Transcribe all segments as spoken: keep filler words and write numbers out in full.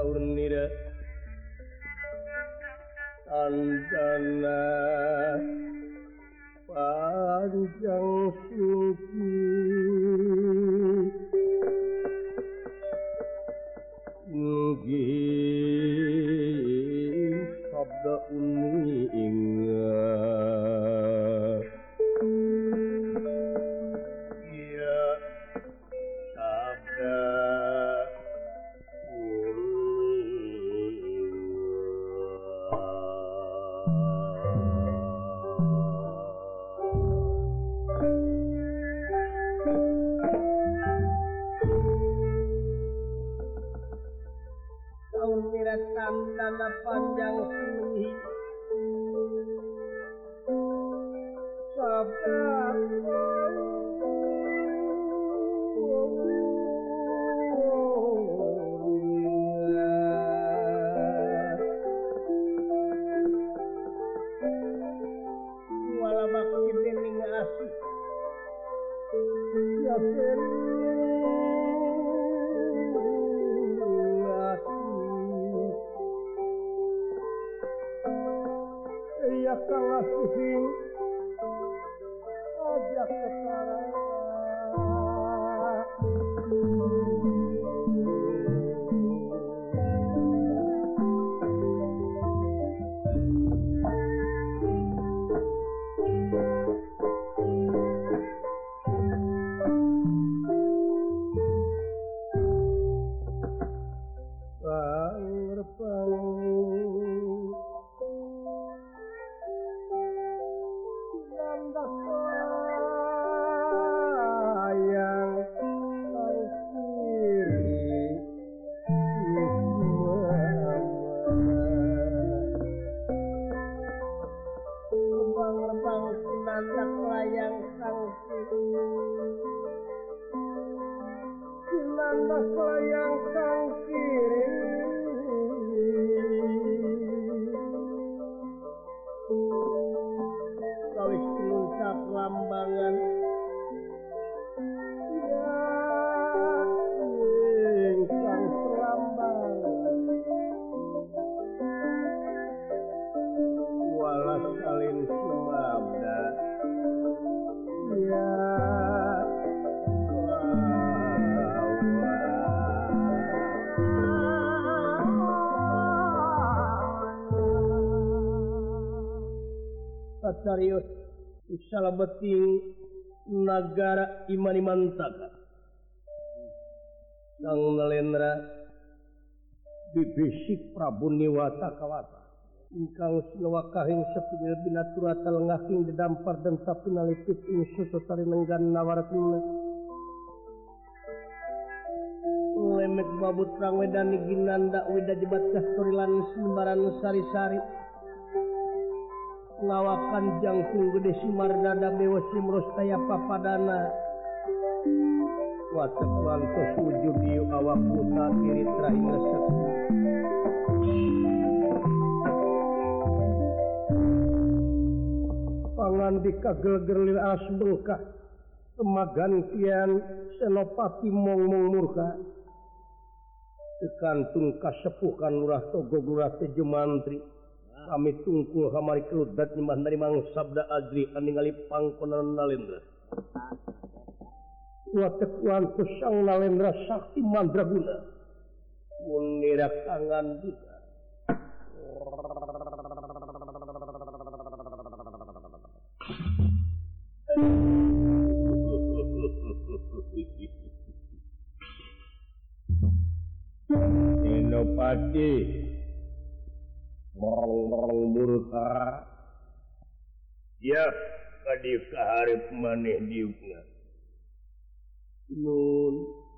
saur nira tandana panjang suci nggih sabda uning ya sabda tandana panjang suni sabda wala bakti dening asih ya ya kalah sing ajak ketara nandak layang sangsi nandak layang sangsi kawis nuncap lambangan ya ingkang selambangan walas salin sumabda ya Satarius Salabeti Nagara Imani Mantaka Kang Nalendra Bibisik Prabu Niwata Kawata ingkang sinawakahing sepinil binaturata lengahing didampar dan sapinalipit ing susutari nenggan nawaratuna lemek babut rang wedani ginanda wida jebat kastorilan sembaran sari-sari ngawakan jangkung gede simardada bewa simrostaya papadana watak wantos wujud diu awak puta kiri teraing lesek pangan dikagel-gerlir alas bengkah kemagantian senopati mong-mong murka tekantung kasepuhan lurah togo lurah tejo mantri kami tungkul hamari kerudat nyembah dari mang sabda adri aningali pangkonan Nalendra watek wantus sang Nalendra sakti mandraguna mengirak tangan juga Senopati merong-merong murka ya kadieu kaharep maneh diukna nun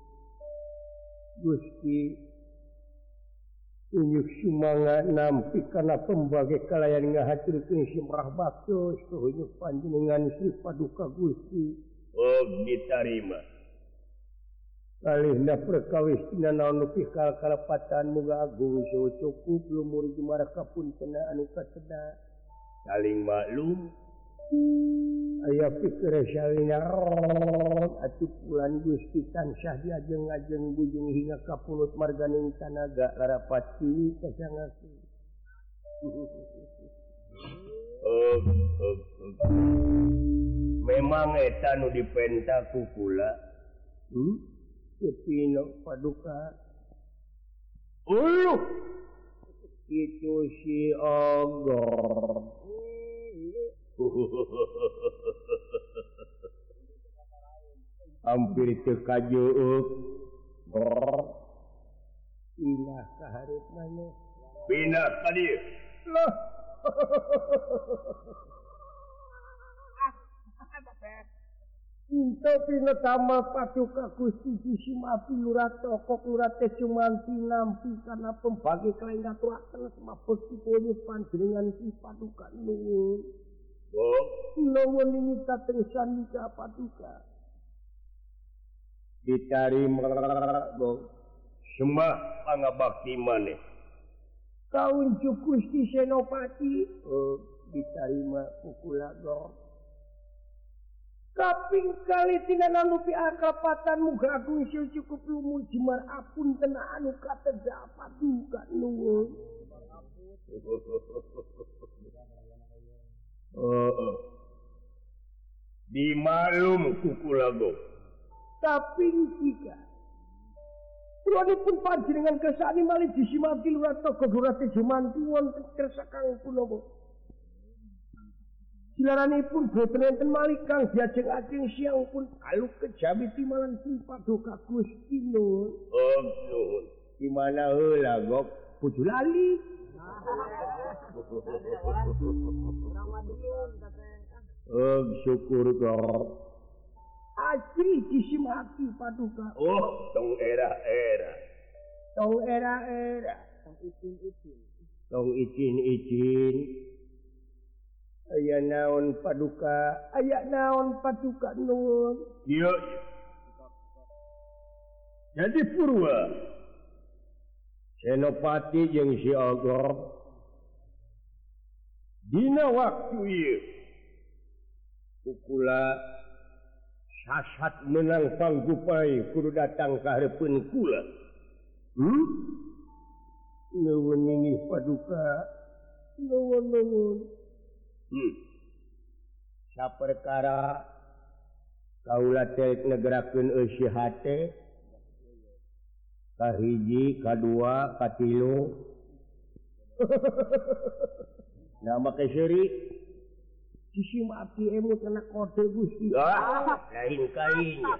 Gusti unjuk sumanga nampi kana pembage kalayan ngahacurkeun simrah baktos tuhunjuk panjenengan Sri Paduka Gusti oh ditarima kalihna perkawis tina naon nu pikal kalepatan muga agung saha cukup lumur jumara kapuntena anu kasedak saling maklum aya pikir salina mohon atuh pulan Gusti tansah diajeng-ajeng bujung hingga ka pulut marganing tanaga larapati kasangakeun. Oh, oh, oh. Memang eta nu dipenta ku kula. Hmm? Kepino paduka. Uluh. Itu si Ogor. Hampir teu kajuuk. Brr. Pindah ka hareup maneh. Pindah ka dieu. Loh. Into pina tamal paduka Gusti Simati Lurato kok Lurate Sumanti nampi karena pembagi kelain ngaturaken semapesti kowe panjenengan si paduka nuwun. Oh, nuwun ini kateng sandika paduka. Ditarima go. Sembah pangabakti maneh. Kaunjuk Gusti Senopati. Oh, ditarima kukula go. Kaping kali tinana lupi akrapatan muga agung sil cukup lumu jemar apun kena anu kateda paduka nuwun. Oh, dimalum kukulago. Kaping tiga. Pulonipun panjenengan kesani malih disimati Lurato Godurate Jumanti wonten kersa Kang Punomo. Silaranipun boten enten malih kang diajeng-ajeng siang pun aluk kejawi timalan si paduka Gusti nuwun. Oh nuwun. Di mana heula gok puju lali. Oh syukur gok. Asri disimati paduka. Oh tong era-era. Tong era-era. Tong izin-izin. Tong izin-izin. Aya naon paduka, aya naon paduka nuwun. Iya. Jadi Purwa Senopati jeung si Ogor dina waktu ieu kukula sasat menang panggupai kudu datang ka hareupeun kula. Hmm? Nuwun inggih paduka. Nuwun nuwun. Hmm. Saperkara kaula teh negerakeun eusi hate kahiji kadua katilu nama keseri disimati emut kena kode Gusti. Ah, lain kainya.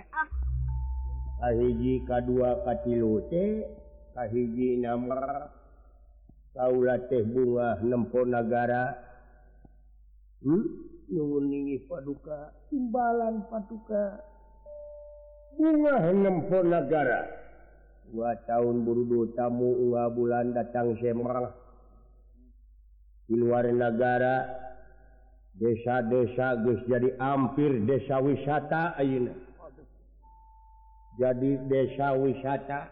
Kahiji kadua katilu teh kahiji namar kaula teh bunga nempo nagara. Hmm? Nuwun inggih paduka timbalan paduka bunga nempo nagara dua tahun burudu tamu unga bulan datang semrah di luar negara desa-desa geus jadi hampir desa wisata ayeuna jadi desa wisata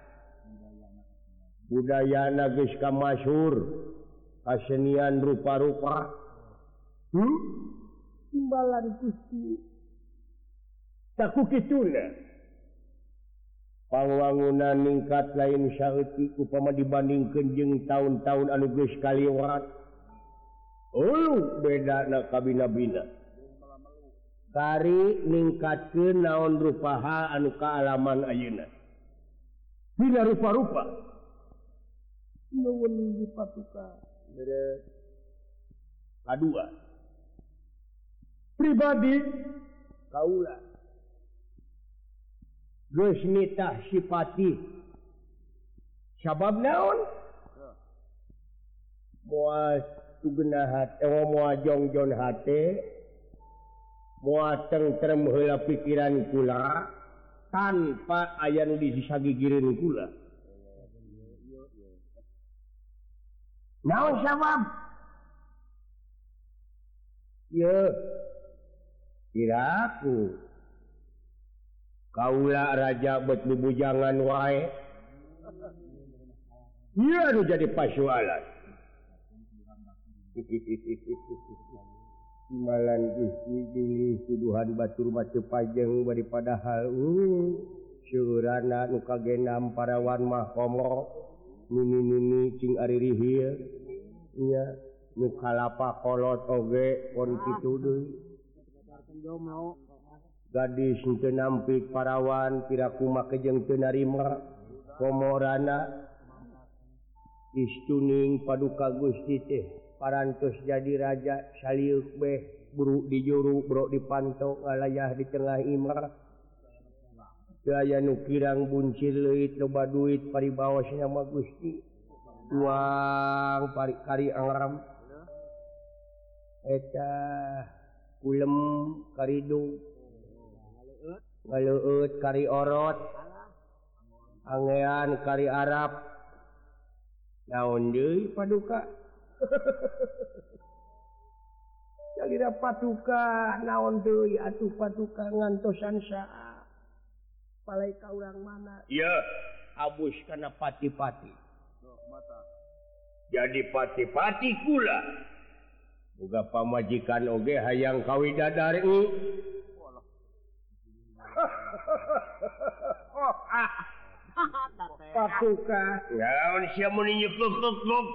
budayana geus kamasyhur kasenian rupa-rupa. Hmm? Timbalan Gusti. Saku kituna. Pangwangunan ningkat lain saeutik upama dibandingkeun jeung tahun-tahun anu geus kaliwat. Oh, bedana kabina-bina. Kari ningkatkeun naon rupaha anu kaalaman ayeuna. Bila rupa-rupa. Nuwun inggih paduka. Beres. Kadua. Pribadi kaula geus nitah sipati sabab naon moal tugeunah hate eh, moal jongjon hate moal tentrem heula pikiran kula tanpa aya nu disagigireun kula. Naon sabab? Ye kiraku kaula raja bet bubujangan wae. Iya nu jadi pasualan. Imbalan Gusti pilih tuduhan batur macam pajeng daripada hal uh, syurana nu kagenam parawan mah komo nini-nini cing ari rihil nya nu kalapa kolot oge pon kitu deui gadis teu nampik parawan piraku make jeung teu narima komorana istuning paduka Gusti teh parantos jadi raja saliuk beh buru di juru bro dipantau ngalayah di tengah imah gaya nu kirang buncir leuit loba duit paribaos nama Gusti tuang pari kari angram eta kulem karidung ngaleueut kari orot angean kari Arab naon deui paduka Jalira paduka naon deui atuh paduka ngantosan saha palai ka urang mana iya abus kana pati-pati jadi pati-pati kula boga pamajikan oge hayang kawidadari paduka naon sia mun nyekek-kek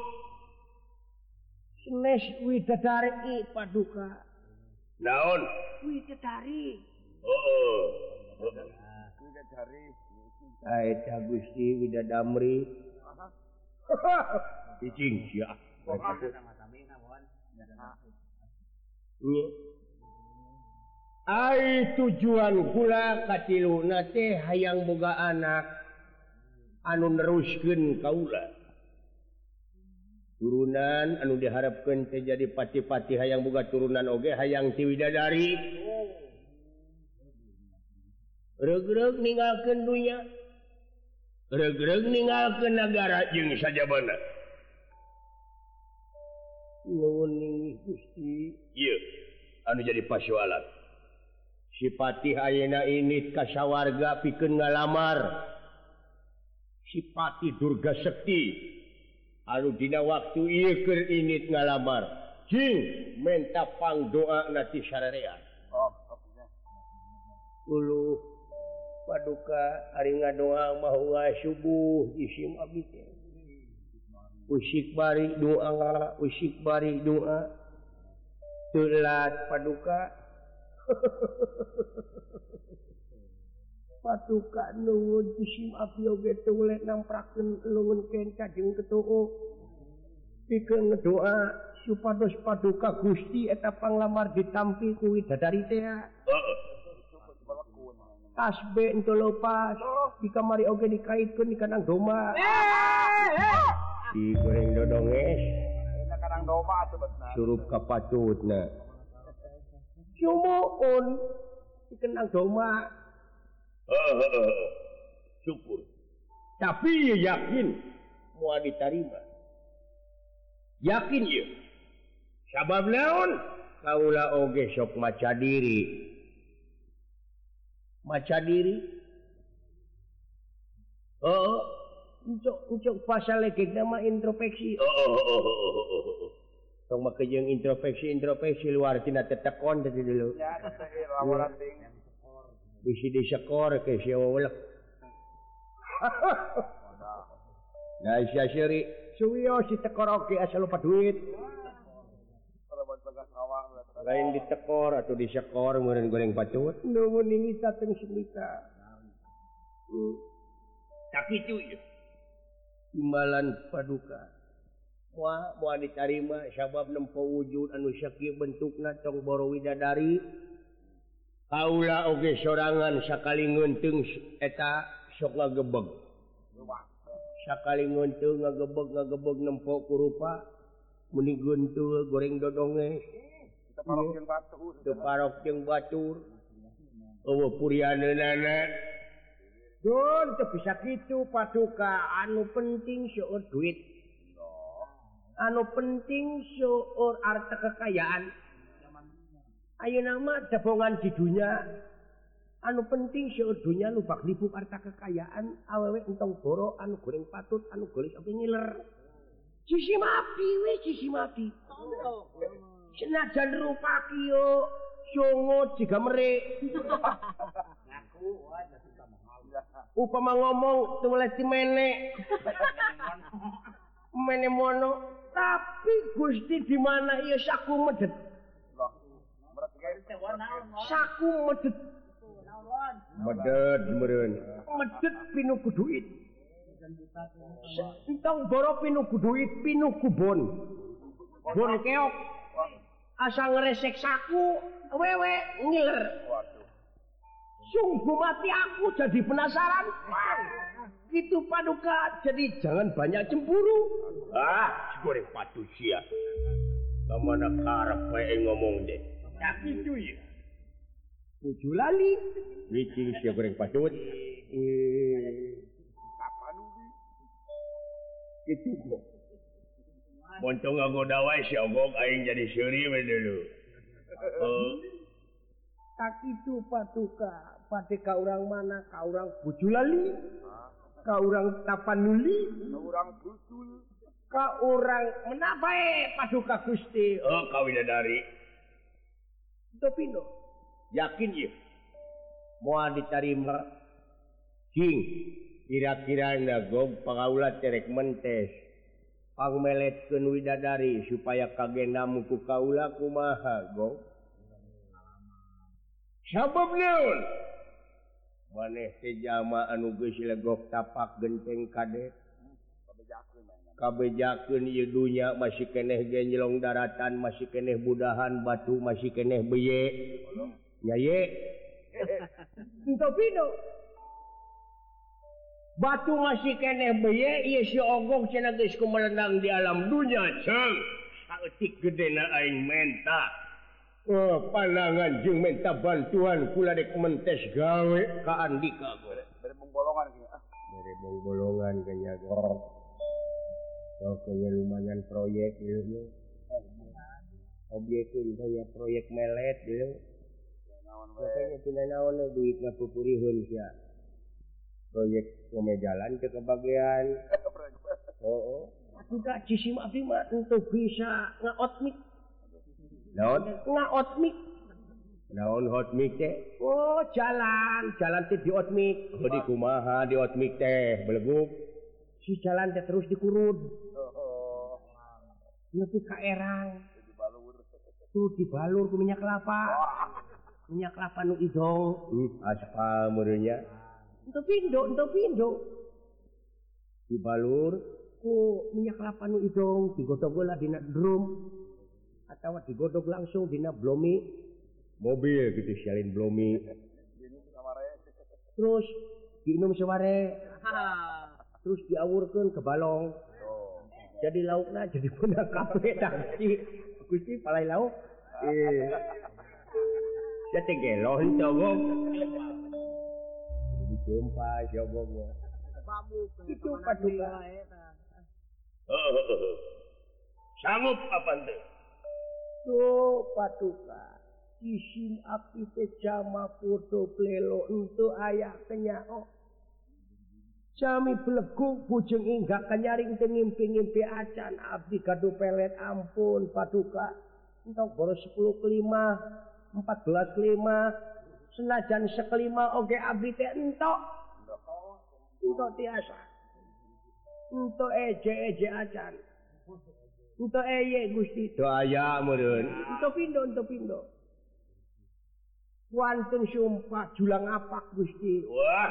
Nes widadari paduka. Naon? Widadari. Heeh. Widadari. Aeta Gusti Widadamri. Cicing sia. Ai tujuan kula katiluna teh hayang boga anak anu neruskeun kaula. Turunan anu diharapkan terjadi pati-pati hayang boga turunan oge hayang ti widadari regreg ninggalkeun dunya regreg ninggalkeun nagara jeung sajabana nuhun Gusti ieu anu jadi pasoalan si pati ayeuna init ka sawarga pikeun ngalamar si pati Durga Sekti anu dina waktu ieu keur init ngalamar cing menta pangdoa na ti sarerean oh uluh paduka ari ngadoa mahuwa subuh isim abdi teh usik bari doa usik bari doa telat paduka paduka nuhun isim abdi oge teu uleh namprakeun leungeun keun kajeng ketuuk pikeun ngadoa supados paduka Gusti eta panglamar ditampi ku widadari teh heeh tasbih ento lepas di kamari oge dikaitkeun di kanang doma di goreng dodonges eta kanang doma atuh betna surup ka patutna sumuun di kanang doma heeh syukur tapi yakin moal ditarima yakin ieu sabab naon kaula oge sok maca diri maca diri oh uncok uncok pasal legeg nama introspeksi oh tong make jeung introspeksi introspeksi luar tina tetekon tadi dulu ya teh lawaran ting bisi disekor ke sia weulek nah sia siri suwiyo si tekor oge asal lupa duit lain ditekor atau disekor meureun goreng pacut nuhun ini sateng semika tak kitu ieu imbalan paduka moal moal ditarima sabab nempo wujud anu sakieu bentukna tong boro widadari kaula oge sorangan sakalingeun teu eta sok ngagebeg sakalingeun teu ngagebeg ngagebeg nempo ku rupa muni geunteul goreng dodonge teu parok jeung batur teu parok jeung batur eueuh purianeunana don teu bisa kitu paduka anu penting seueur duit anu penting seueur harta kekayaan ayeuna mah jabongan di dunia anu penting seueur dunia nu bak lipuk harta kekayaan awewe entong boro anu goreng patut anu golis oge ngiler sisi mapi we sisi mapi Senajan rupa kiyo songo jiga merik. Upama ngomong tulis menek. Mene mono, tapi Gusti di mana iya saku medet. Saku medet. Medet meureun. Medet pinuku duit. Entong boro pinuku duit, pinuku bon. Bon keok. Asal ngeresek saku, wewe ngiler. Sungguh mati aku jadi penasaran. Gitu Paduka, jadi jangan banyak cemburu. Ah, goreng patusia. Kamana karep wae ngomong deh. Tapi itu ya. Puju lali. Wicing sia goreng patut. Eh, Itu kok. Montong ngagoda wae si ogog aing jadi seuri we dulu. Oh, tak itu Paduka. Pada ka urang mana? Ka urang Puju lali. Ka urang Tapanuli. Ka urang Busul. Ka urang menapa eh Paduka Gusti? oh kawidadari. Itu pindo. Yakin ya? Moal ditarima. Cing, kira-kira nagog pangaulat terek mentes. Pangmeletkeun widadari supaya kagendamu ku kaula kumaha, Gog? Sabab naon? Maneh teh jalma anu geus legok tapak genteng kadet. Kabejakeun ieu dunya masih keneh genjlong daratan, masih keneh budahan batu, masih keneh beye. Nya ye. Itu pindo. Batu masih keneh beye, ieu si ogog cenah geus kumelenang di alam dunya, Ceng. Saeutik gedena aing menta. Oh, panangan jeung minta bantuan kula dek mentes gawe ka Andika, Gog. Berebung bolongan kieu. Ah, Berebong bolongan kayaknya, Gog. Oh, kayaknya lumayan proyek gitu. Objeknya kayak proyek melet gitu. Makanya tina naon duit ngapupurihun sia. Proyek pemejalan ke kebagian. Oh, oh. Paduka cisim abdi mah ento bisa ngaotmik. Naon? Ngaotmik. Naon hot mic teh? Oh, jalan, jalan teh di otmik. Oh, di kumaha di hot mic teh beleguk. Si jalan teh terus dikurud. Nepi ka erang. Tuh dibalur ku minyak kelapa. Minyak kelapa nu idong. Hmm, aspal meureunnya. Ento pindo, ento pindo. Dibalur Ku minyak kelapa nu idong digodog heula dina drum atawa digodog langsung dina blomi. mobil gitu sialin blomi. Terus diinum seware. Terus diawurkeun ke balong. Jadi laukna jadi punah kafe tangsi. Gusti palai lauk. Eh. Ya teh gelon cogok. Dijumpa cogok. Itu Paduka. Sanggup apa teh? Tuh Paduka. Isim api teh jama foto plelo untuk ayah kenyao. Jami beleguk bujeng inggak kenyaring teh ngimpi-ngimpi acan abdi kadu pelet ampun Paduka. Entok boros sepuluh kelima, empat belas kelima, senajan sekelima oge abdi teh entok. Entok tiasa. Entok eje-eje acan. Entok eye Gusti. Doaya meureun. Entok pindo, entok pindo. Wantun sumpah julang apak Gusti. Wah.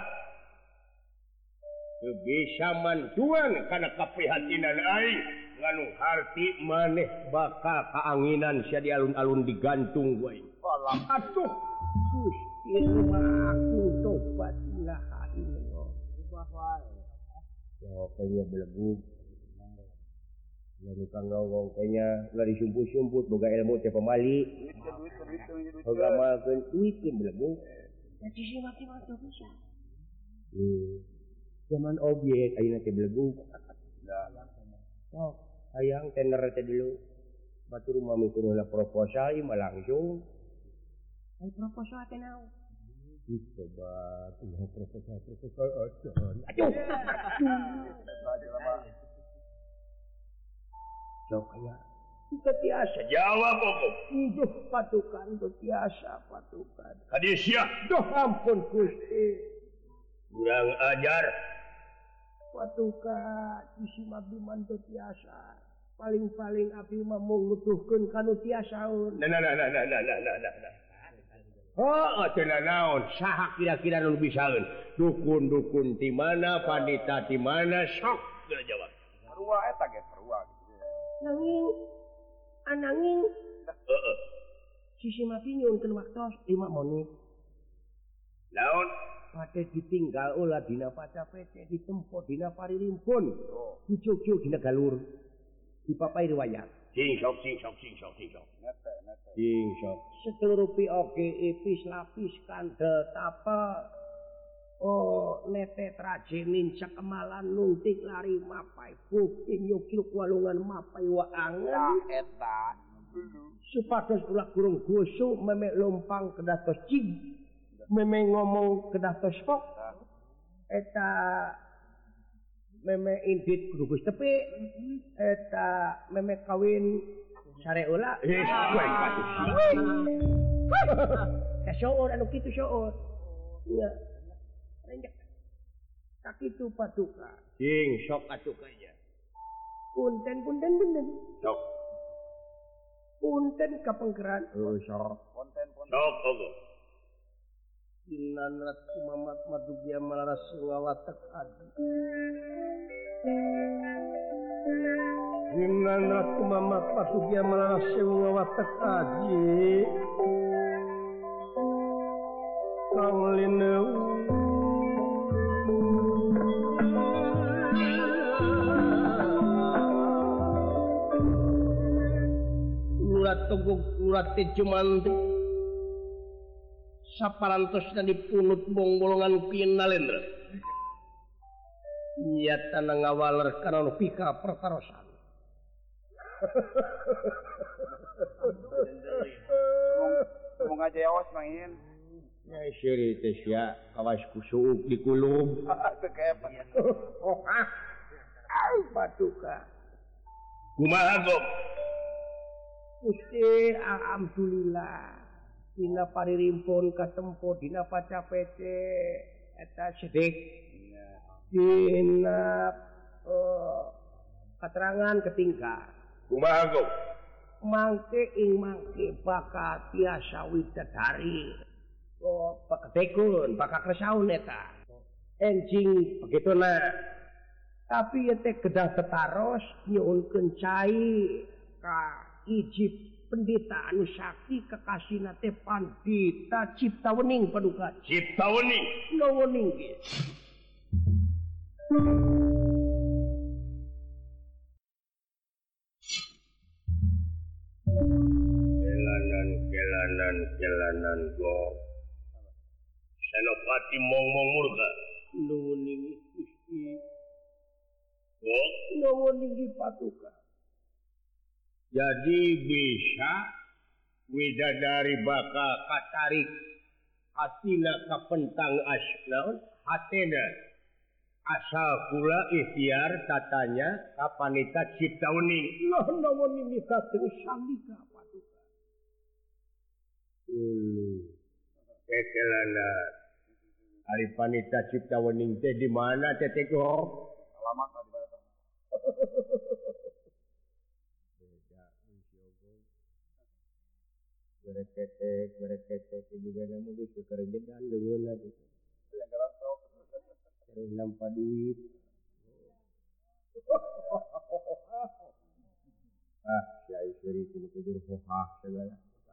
Teu bisa mantuan kana kaprihatinan aing nganu harti maneh bakal kaanginan sia di alun-alun digantung wae. Atuh Gusti mah aku tobat ilaha illallah. Ubah wae. Ya kayaknya beleguk. Lalu kang ngomong kayaknya lari sumput-sumput boga ilmu teh pamali. Boga malkeun duit ke beleguk. Jadi si mati-mati bisa. Hmm. Zaman objek ayeuna teh beleguk. Oh, hayang tender teh dulu. Batur mah miturna proposal ieu mah langsung. Ai proposal teh naon? Coba tunggu proposal proposal aja. Aduh. Sok aya Itu tiasa. Jawab pokok. Duh patukan, duh tiasa patukan. Kadesya. Duh ampun Gusti. Kurang ajar. Patukan, isi abdi mantu tiasa. Paling-paling abdi mah mau ngutuhkeun kanu tiasaun. Nah, nah, nah, nah, nah, nah, nah, nah, nah. Oh, cenah naon? Saha kira-kira nu bisaeun? Dukun-dukun di mana, pandita di mana? Sok geus jawab. Perua eta ge perua gitu. Nanging ananging Heeh. sisi mati nyuunkeun waktos lima menit. Naon? Pate ditinggal ulah dina pacapece ditempo dina paririmpun. Dicucuk dina galur. Dipapai riwayat. Sing sok sing sok sing sok sing sok. Nete nete. Sing sok. Seluruh oge ipis lapis kandel tapa oh nete traje mincak kemalan nuntik lari mapai bukti nyukil walungan mapai waangan Eta dulu. supados ulah kurung gusu meme lompang kedatos cing meme ngomong kedatos kok eta meme indit kudu tepi eta meme kawin sare ulah Eh, kowe patus. ka syaur anu kitu syaur iya renjek sakitu patuka Sing sok atuh kaya. punten punten punten Sok. punten kapengkeran oh sok Konten konten. Sok pokok. Inanat Mamat Madugya Malaras Wawatek Adi Inanat Mamat Madugya Malaras Wawatek Adi Kang Lineu Ulat togok ulat tejumanti saparantosna dipunut bongbolongan kinalendra. Nyata ngawaler kana pika pertarosan. Ngomong aja ya was main. Ya siri teh sia kawas kusuk di kulum. Teu kayak apa. Oh ah. Ai patuka. Kumaha gom? Gusti alhamdulillah. Dina paririmpun katempo dina pacapece eta sedek. Dina uh, keterangan ketinggal. Kumaha gom? Mangke ing mangke baka tiasa widadari. Oh, paketekun, baka kresaun eta. Enjing begituna. Tapi ete kedah tetaros nyuunkeun cai ka ijib pendeta anu sakti kekasihna teh pandita Ciptawening paduka. Ciptawening. Nawening ge. Kelanan kelanan kelanan go. Senopati mong-mong murka. Nawening Gusti. Go. Nawening patuka. Jadi bisa widadari baka katarik hatina kapentang asnaun hatena asal pula ikhtiar tatanya kapanita Ciptawening. Lah nawening sateng sandika patuka. Ulu kekelana ari panita Ciptawening teh di mana teh teh go? Alamat di mana? Bereketek, bereketek juga nama geus kekerejedan deungeunna gitu. Yang gelas sok. Terus nampa duit. Ah, si Aisyuri cuma kejur hohah segala.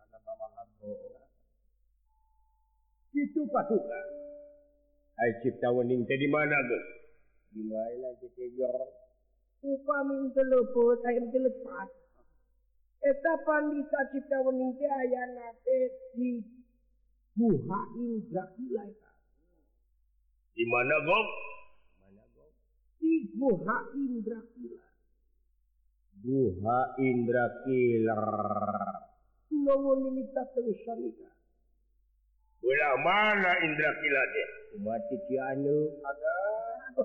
Itu patuka. Ai Ciptawening teh di mana, Gus? Di mana Ciptawening? Upami telepon, ayam telepat. Eta pandita Ciptawening teh ayana teh di Guha Indra Kila eta. Di mana, Gop? Mana Gop? Di Guha Indra Kila. Guha Indra Kila. Nawening tateuh sanika. Ulah mana Indra Kila teh? Mati Cianu ada.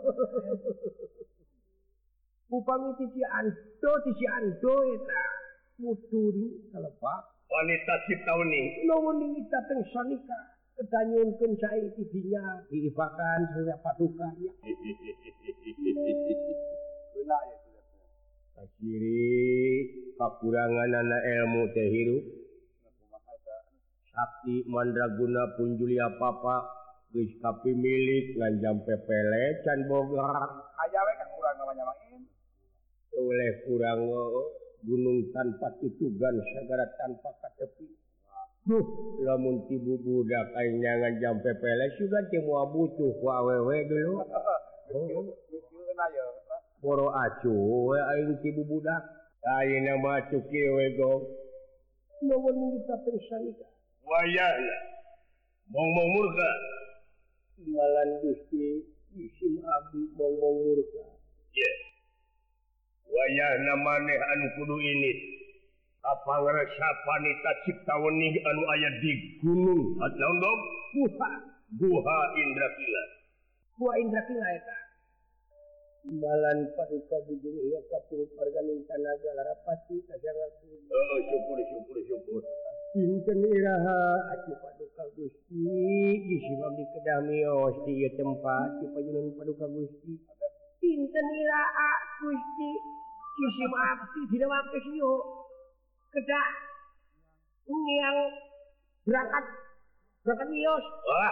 Upami ti Ciando ti Ciando eta. muturi kalebak wanita Ciptauning nuwun kita teng sanika kedanyunkeun sae tidinya diibakan surya paduka ya Benar ya sudah. Sakiri kakurangan anak ilmu teh hirup sakti mandraguna pun Julia papa geus kapimilik ngan jampe pele can boga Aja we kan kurang namanya main. oleh kurang gunung tanpa tutugan sagara tanpa katepi duh lamun ti budak aing nyangan jampe pele sugan teu moal butuh ku awewe dulu Beuna ya. poro acu we aing ti budak ayeuna mah cuki we go nuwun kita teng sanika wayahna mong-mong murka malan Gusti isim abdi mong-mong murka ye wayahna maneh anu kudu ini kapangresapan ita Ciptauning anu aya di gunung naon dong Guha Guha Indrakila Guha Indrakila eta malan paduka bujung ieu kapurut marganing tanaga larapati kasangakeun oh syukur syukur syukur dinten iraha atuh paduka Gusti isim abdi kedah miyos di ieu tempat di pajunan paduka Gusti dinten iraha Gusti isim abdi dina waktu sieu kedah ngiang berangkat berangkat miyos wah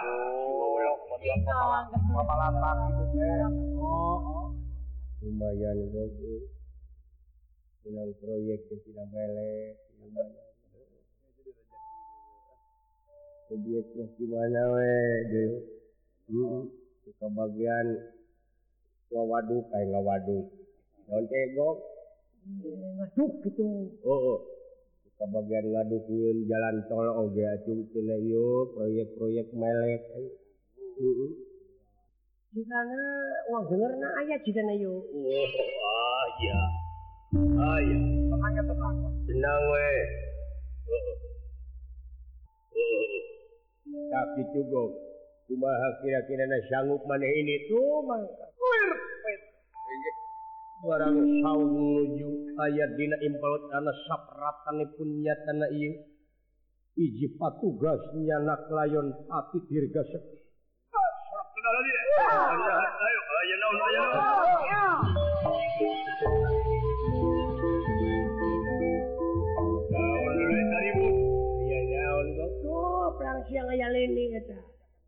Papalatak itu teh. lumayan bagus bilang proyek yang tidak melek lumayan proyek masih mana we dulu hmm. Suka bagian ngawaduk kayak ngawaduk naon tego ngaduk gitu oh, oh. Suka bagian ngaduk nyieun jalan tol oge atuh cenah ieu proyek-proyek melek heeh jikana uang dengerna aya jikana yo oh ah ya ah ya Tenangnya tenang. senang we heeh heeh tapi cukup kumaha kira-kira sanggup maneh ini tuh mangka barang saung nuju aya dina impalot ana sapratanipun nyatana ieu iji patugas nyanak layon pati dirga sekti sorak kenal dia ayo ayo naon ayo naon dari tarimu iya naon kok tuh perang siang aya leni eta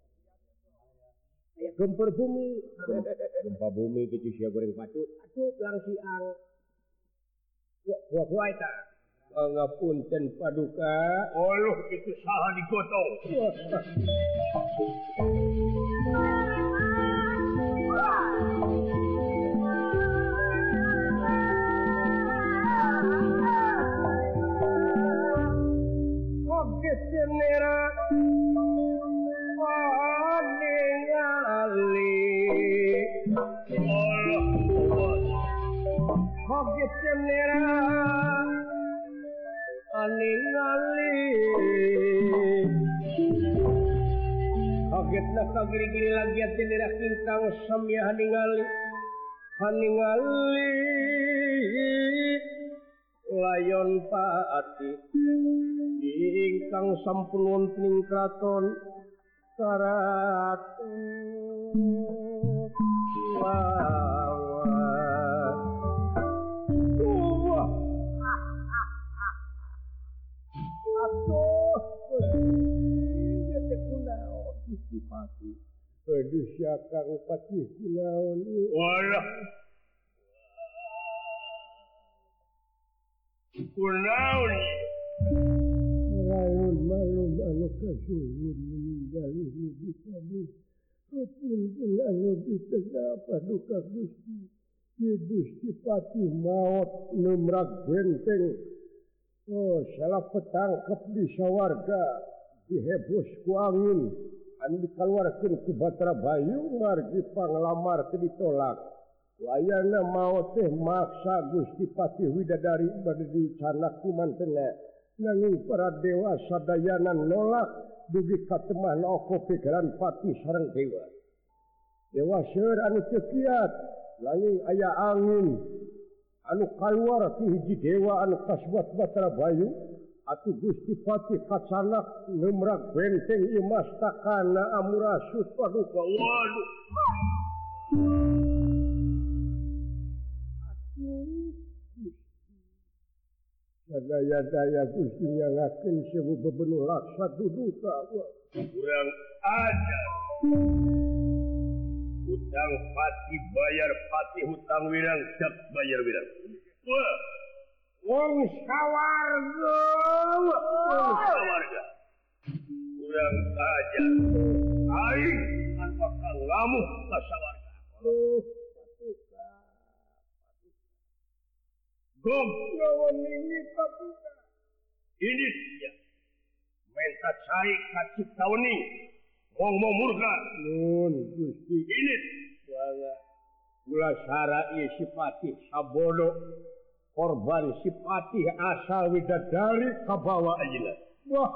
aya gempur bumi gempa bumi kitu sia goreng patut atuh perang siang buah-buah eta ngapunten paduka oluh kitu saha digotong oge senera paningali Allah oge senera paningali kagetna kagiri-giri lagi atendera kingkang samya ningali haningali layon paati ingkang sampun wonten kraton karaton lawan wah atuh Gusti kunaon Gusti Pati aduh syakang Pati kunaon walah kunaon lawan malum anu kasuhun meninggali nuju kami kapunten anu ditegak paduka Gusti Ki Gusti Pati maot numrak benteng oh salah petangkep di sawarga dihebos ku angin anu dikaluarkeun ku Batra Bayu margi panglamar teu ditolak wayahna maot teh maksa Gusti Pati Widadari bade dicanak ku mantena nanging para dewa sadayana nolak dugi katemah oko pikiran Pati sareng dewa dewa seueur anu teu kiat nanging aya angin anu kaluar ti hiji dewa anu kasbat Batara Bayu atuh Gusti Patih kacanak ngemrak benteng ieu mastakana Amurasus paduka. Waduh. Atuh daya-daya Gusti nyangakeun sewu bebenuh laksa duduka. Kurang ajar. Hutang pati bayar pati, hutang wirang sak bayar wirang. Wah, wong sawarga, wong sawarga. Kurang ajar. Aing kan bakal ngamuk ka sawarga. Oh, patuka. Gom, lawan ini patuka. Ini dia. Menta cai kacip tawani. Wong mau murka. Nun, Gusti. Ini. Wala. Gula sara ieu si Patih sabodo. Korban si Patih asal widadari kabawa ayeuna. Wah.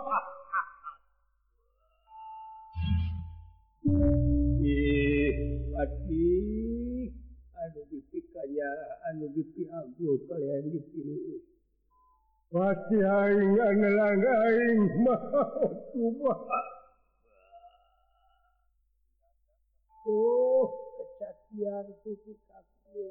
Ih, Patih. Anu dipikanya, anu dipiagul kalian dipilih. Patih aing anelang aing mau tubah. Oh, kecacian sisi kaki.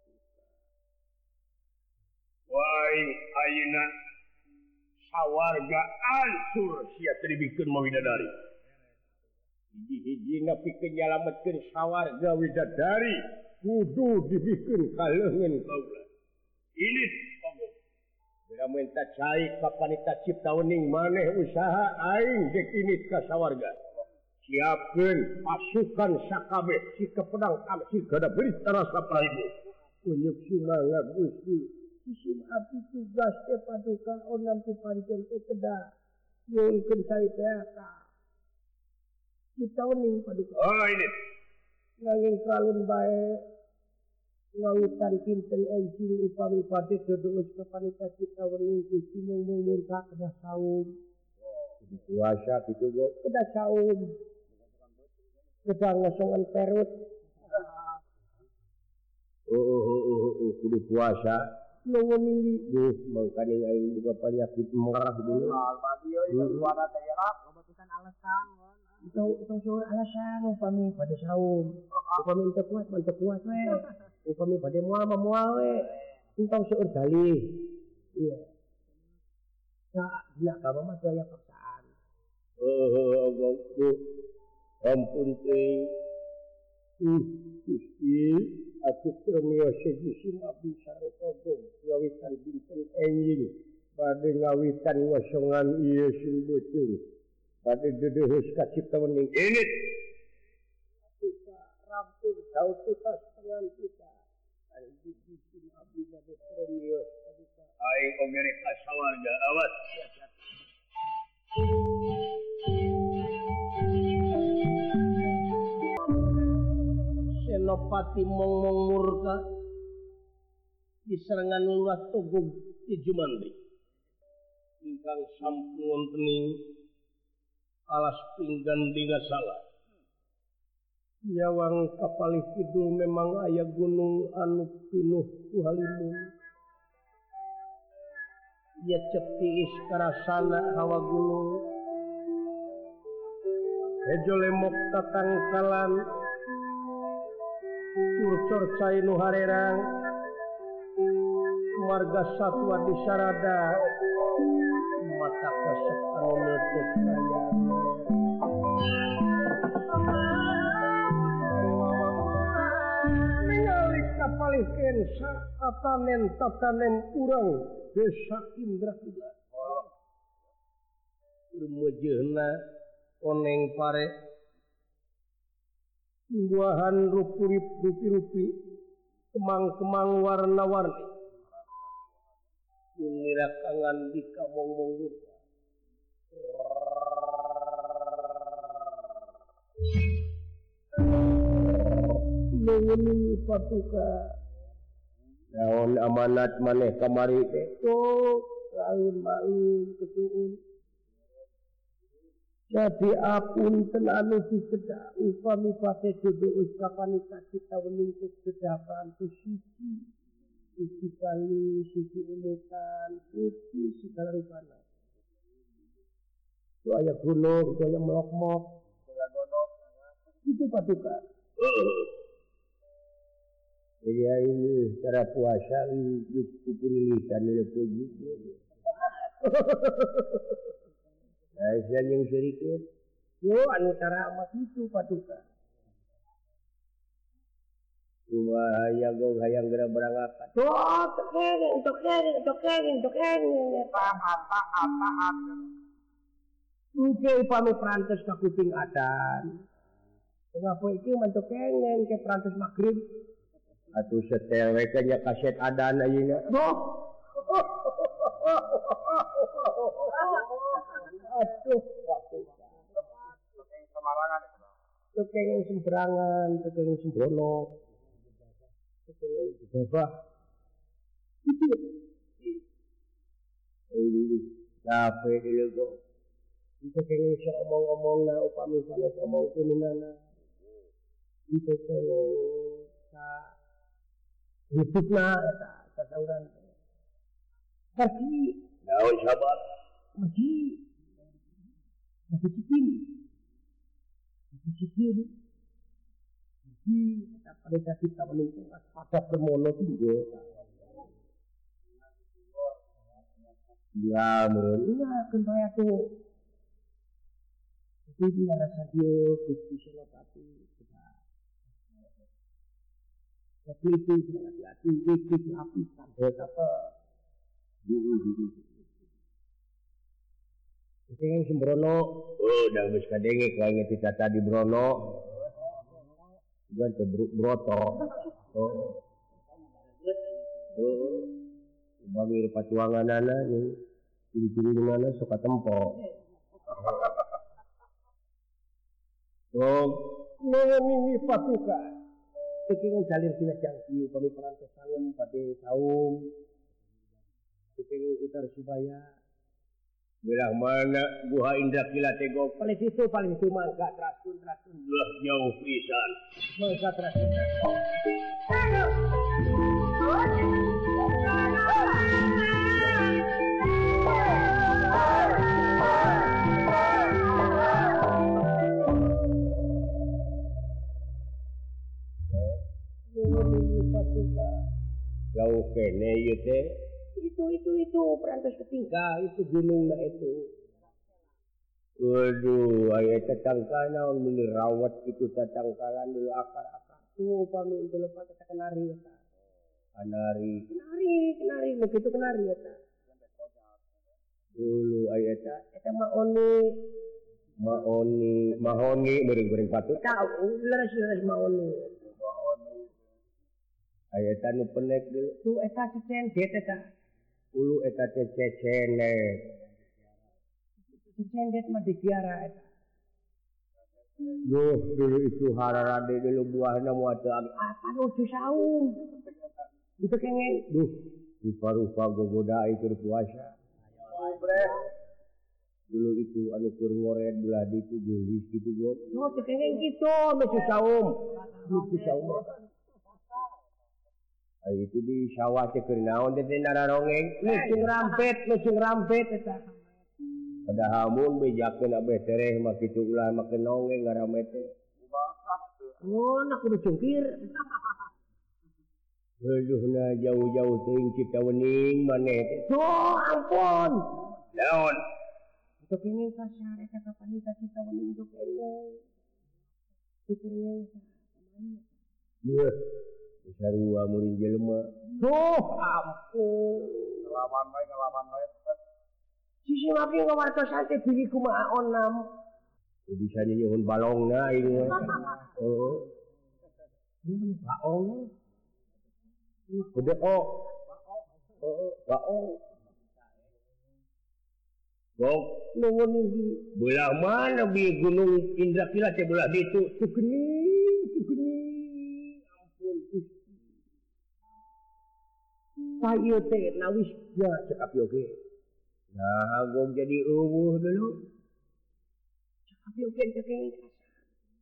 Wai, ayeuna sawarga ancur sia teu dibikeun mawidadari. Hiji-hiji ngapikeun nyalametkeun sawarga widadari kudu dibikeun ka leungeun kaula. Ini panggung. Bira menta cai ka panita ciptawening maneh usaha aing dek init ka sawarga. Siapkeun pasukan sakabeh si kepedang amsi gada berita rasa praibu. Unyuk sumangga Gusti. Isim abdi tugas teh paduka onam ti pancen teh kedah. Nyuhunkeun cai teh ka. Kita wening paduka. Oh ini. Nanging kalun bae ngawitan kinten enjing upami pade dodoos ka panita kita wening Gusti mung murka kedah saum. Puasa kitu go kedah saum. Kedah ngosongan perut. Oh, oh, oh, oh, oh, kudu puasa. Nunggu minggu. Duh, mangkane aing juga penyakit merah dulu. Almati euy suara teh lah, Batukan alasan. Itu itu suruh alasan upami pada saum. Upami teu kuat, mantep kuat we. Upami pada moal mah moal we. Entong seueur dalih. Iya. Nah, dina ka mah daya paksaan. Oh, oh, ampun teh. Uh, Gusti, atuh premio sejisim abdi sareng gong ngawitan dinten enjing bade ngawitan ngosongan ieu sing beuteung. Bade dedeuheus ka ciptawening ini. Kita rampung saut kita setengah kita. Aing dijisim abdi bade premio paduka. Aing oge rek ka sawarga awas. Senopati mong-mong murka di serangan luas Togog di Jumandri ingkang sampun wontening alas pinggan digasala nyawang kapalih kidul memang aya gunung anu pinuh ku halimun ya cepiis karasana hawa gunung hejo lemok tatangkalan curcor cai nu harerang marga satwa di sarada mata kesep anu leuteut kaya ningali kapalihkeun saatanen tatanen urang desa Indrakila rumeujeunna oneng pare buahan rupi-rupi, kemang-kemang warna-warni. Unirakangan di kamong-mong murka. Menguningi patuka. Naon amanat maneh kamari teh. Oh, laun-laun ketuun. Jadi apun tenanu diseda upami pate dodo uskapanita kita weningkuk sedapan tu sisi sisi kali, sisi umutan, putih segala rupanya. Itu ayah gunung, itu ayah melok-mok. Itu patukan. Ya ini cara puasa ini kupulihkan oleh begitu. Nah, saya yang sedikit. Yo, anu cara amat itu patukan. Cuma hayang hayang gerak berangkat. Tuh, tekeng, tekeng, tekeng, tekeng. Apa apa apa apa. Mungkin pami perantas ke kuping adan. Kenapa itu mantuk kengen ke perantas maghrib? Atuh setel wekanya kaset adan ayeuna. Boh. Aduh, Semarangan. tekeng semberangan, tekeng sembrono. Tekeng bebah. Ini capek dulu kok. Itu kayaknya bisa omong-omong na upami sana omong kuninana. Itu kayaknya sa hidup na eta sasauran. Tapi Naon sahabat? Maji Maji cikin Maji cikin Maji kita pada kasih kita menunggu pada permono tinggal. Ya, menurut iya kan saya tuh itu dia rasa dia kusti senopati tapi itu hati-hati itu api sampai apa dulu dulu itu yang sembrono oh dah wis kadenge kaya kita tadi brono bukan tebruk broto oh oh bagi patuangan anak yang ciri-ciri mana suka tempo oh ini patukan kekingin jalir sila jangki kami perantas salam pada saum kekingin utar subaya Bilang mana Guha Indra Kila Tegok? paling situ paling itu mangga terasun terasun Lah jauh pisan. mangga terasun terasun Jauh kene ieu teh. itu itu itu perantas ketinggal itu gunungnya itu Waduh, aya tetangka naon meni rawat itu tatangkalan dulu akar-akar. tuh pami itu lepas kata kenari ya Anari kenari kenari begitu kenari ya dulu aya eta eta mah oni maoni mahoni meureung-meureung patut. tahu leres-leres mah oni Aya eta nu penek dulu. tuh eta cecendet eta Ulu eta teh cecenet. cecendet mah dikiara eta Duh, dulu itu hararade dulu buahna moal teu agi. apa nu saum itu kengen Duh, rupa-rupa gogoda itu puasa. Dulu itu anu keur ngoret belah di itu gelis gitu gua. oh kengen gitu nu saum nu saum Ay itu di sawah teh keur naon teh nararongeng. lucung rampet lucung rampet eta Padahal mun bejakeun abeh tereh mah kitu ulah make nongeng ngarame teh. oh nak kudu cungkir Aduh na jauh-jauh teuing Citawening maneh teh. oh ampun Naon? itu kengen kasar eta kapan kita kita wening itu kengen itu kengen Yeuh. Sarua murid jelema. duh ampun Ngelawan bae ngelawan bae. sisi lagi ngawartosan teh diri kumaha onam Bisa nyuhun balongna ieu mah. Heeh. ini baong Udah oh. Heeh, baong. Gok, nuwun iki belah mana bi Gunung Indra Kila teh belah ditu. sugening sugening ampun Gusti sayo teh nawis ya cek api oge Nah, gok jadi eueuh dulu. cek api oge cek kengen kasar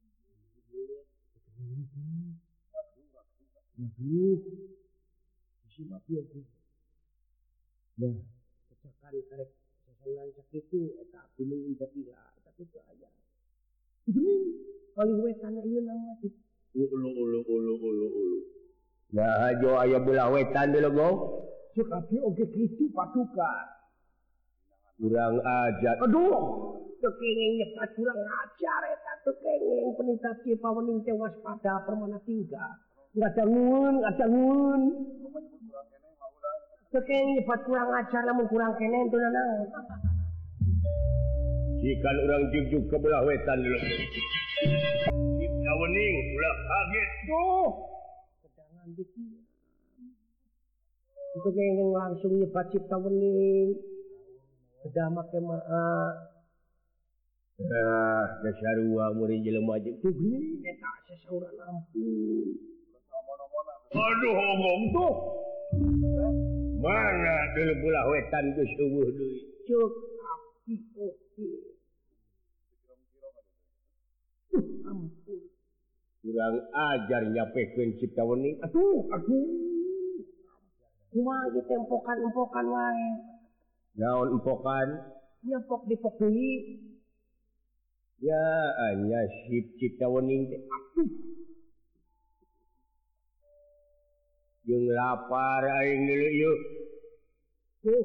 Aduh, Sima Piogi. Nah, kecakan karek sasaran sakitu eta gunung Indapila eta teh aya. Bening paling wetan ieu nama teh. Ulu ulu ulu ulu ulu. Nah, ajo aya belah wetan deui go. Cek abi oge kitu patuka. Kurang ajar. Aduh, tekengeng nyepat kurang ajar eta tekengeng penita Cipawening teh waspada permana tinggal. Ngadangun, ngadangun. Tekengeng nyepat kurang ajar lamun kurang kene teu naon. Jikan urang jugjug ke belah wetan deui. Cipawening ulah kaget. Duh. Kedangan dikieu. Tekengeng langsung nyepat Cipawening. Kedah make maa. Ah, dasarua muri jelema jeung Tuh gini eta sesauran ampun. Aduh omong tuh. Mana deui belah wetan geus eueuh deui. Cek api oke. Uh, ampun. Kurang ajar nyapekeun Cipawening. Aduh, aduh. Kumaha ieu tempokan-empokan wae. Naon empokan? Nyepok dipok deui. Ya, anya sip Cipawening teh atuh. Jeung lapar aing deui ieu. Tuh.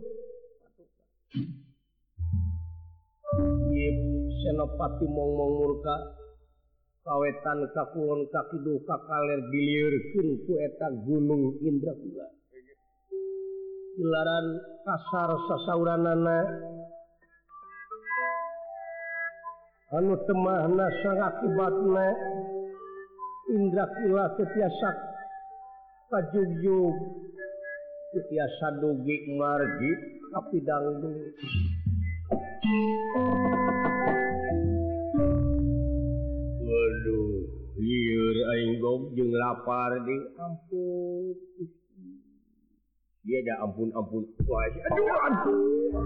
Ip Senopati mong-mong murka kawetan kakulon kakiduh kakaler diliurkeun ku eta Gunung Indrakila. Ilaran kasar sasauranana anu temahna sangakibatna Indrakila tetiasa kajugjug tetiasa dugi margi kapidang deui. Waduh, lieur aing gog jeung lapar deui. Ampun. Dia ada ampun-ampun. Wah, Aduh, aduh.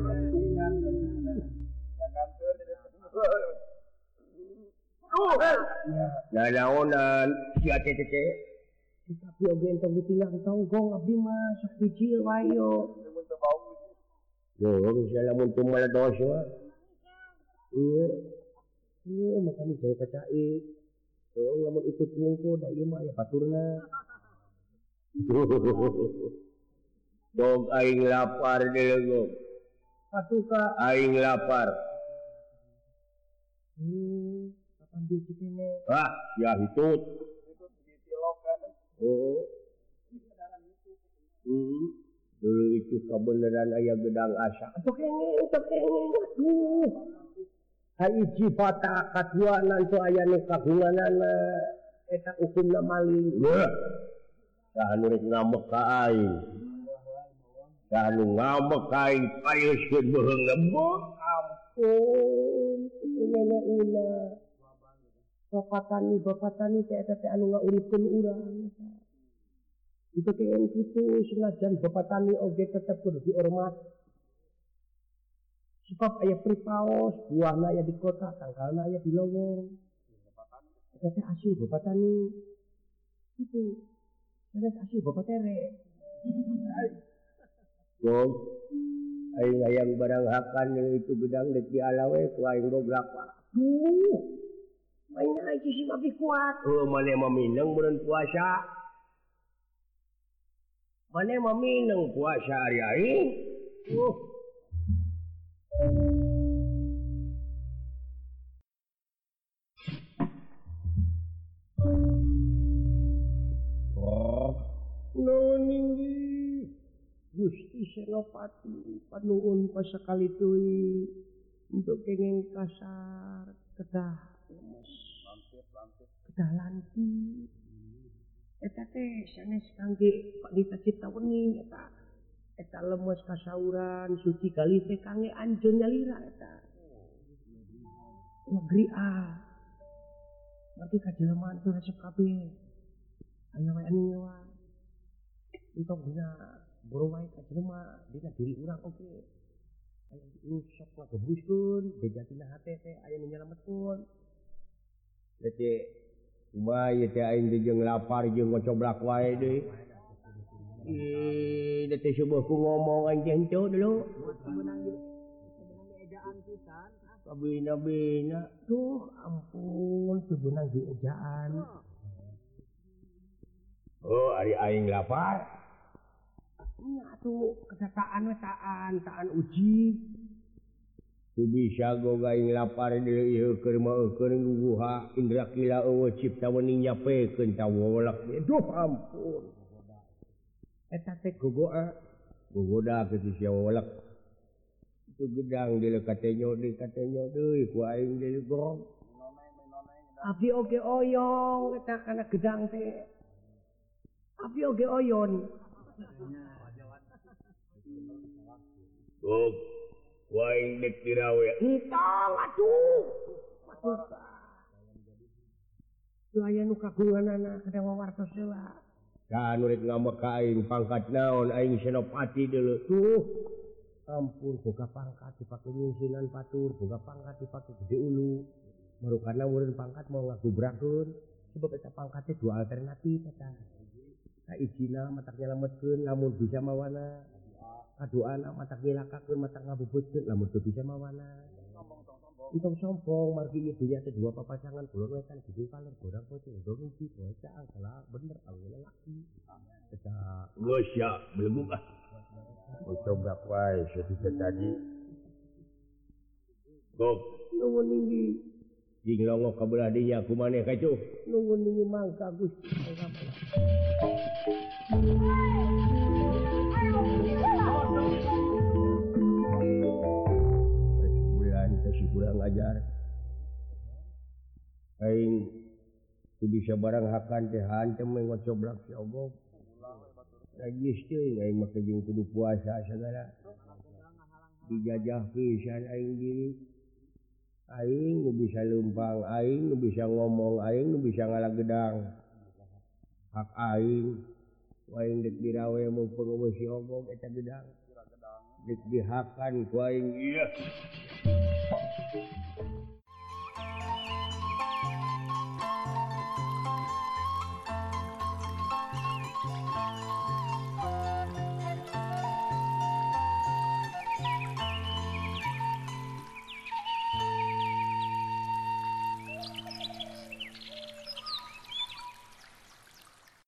Nah, naonan sia tete. Tapi oge entong ditinggal tonggong abdi mah sok bicil wae yo. Yo, misalnya mun teu meledos mah. Iya. Iya, makanya jauh ka cai. Tuh, lamun itu tungku da ieu mah aya baturna. Dog aing lapar deui gog. Patuka. Aing lapar. Hmm, kapan dia kene? Ah, ya hitut. Oh. Hmm. Dulu itu kebenaran aya gedang asa. Atuh kene, atuh kene. Aduh. Haiji bata kadua nanti aya nu kagunganana eta hukumna maling. Wah. Saha nu rek ngambek ka aing. Saha nu ngambek ka aing payeuskeun beheungna. Ampun, ini ina. Bapak tani, bapak tani teh eta teh anu ngauripkeun urang. Itu teh kitu senajan bapak tani oge tetep kudu dihormat. Sebab aya pripaos, buahna aya di kota, tangkalna aya di lowong. Eta teh asli bapak tani. Itu. Eta asli bapak tere. Gog. Aing hayang barang hakan itu gedang deuk dialawe ku aing goblak Pak. Duh. Mainnya aja sih tapi kuat. Oh, mane mamineng bulan puasa. Mane mamineng puasa hari aing. Uh. Oh, Noninggi. Gusti Senopati panuhun pasakali teuing untuk kenging kasar kedah lemes. Kedah lanti. Eta teh sanes kangge Pandita Cipawening eta. Eta lemes kasauran suci kali teh kangge anjeun nyalira eta. Negeri A. Berarti kajelmaan teu resep kabeh. Aya wae anu nyewa. Untuk dina boro wae kajelema dina diri urang oge. Aya nu sok ngagebuskeun, bejatina hate teh aya nu nyelametkeun. Jadi kumaha ieu teh aing teh jeung lapar jeung ngocoblak wae deui. Ih, teh subuh ku ngomong anjeun ceu dulu. Kabina-bina. Duh, ampun, teu beunang di ejaan. Oh, ari aing lapar. Nya atuh kesataan we taan, taan uji. Teu bisa goga aing lapar deui ieu keur mah keur nguguha indra kila eueuh cipta wening nyapekeun tawolak. Duh, ampun. Eta teh gogoa. Gogoda ke sia wolak. Itu gedang di lekatenyo di katenyo deui ku aing deui gong. Abdi oge oyong eta kana gedang teh. Abdi oge oyon. Gog, ku aing dek dirawe. Entong atuh. Matusa. Teu aya nu kagunganana kada wawartos heula. Kan urip ngambek ka aing pangkat naon aing senopati deuleu. Tuh. Ampun, boga pangkat dipake nyingsinan batur, boga pangkat dipake gede ulu. Marukana urang pangkat mau ngagubrakeun. Sebab eta pangkatnya dua alternatif eta. Kaijina matak nyelametkeun lamun bisa mawana. Kaduana matak nyilakakeun matak ngabubutkeun lamun teu bisa mawana. Entong sombong margi ieu dunya teh dua papasangan kulon wetan gede paler gorang poe dong uji poe caang salah bener aluna laki. Eta geus ya belum ah. Coba wae sesuatu tadi. Gok, nuwun ninggi. Jing longo ka belah dinya kumaneh kaitu. Nuwun ninggi mangka Gusti. Bulan kasih kurang ajar. Aing teu bisa barang hakan teh hantem ngocoblak si ogog. Najis teuing aing mah jeung kudu puasa sagala. Dijajah pisan aing diri. Aing nu bisa leumpang, aing nu bisa ngomong, aing nu bisa ngalagedang. Hak aing, aing dek dirawe mumpung eueuh si ogog eta gedang. Dek dihakan ku aing ieu.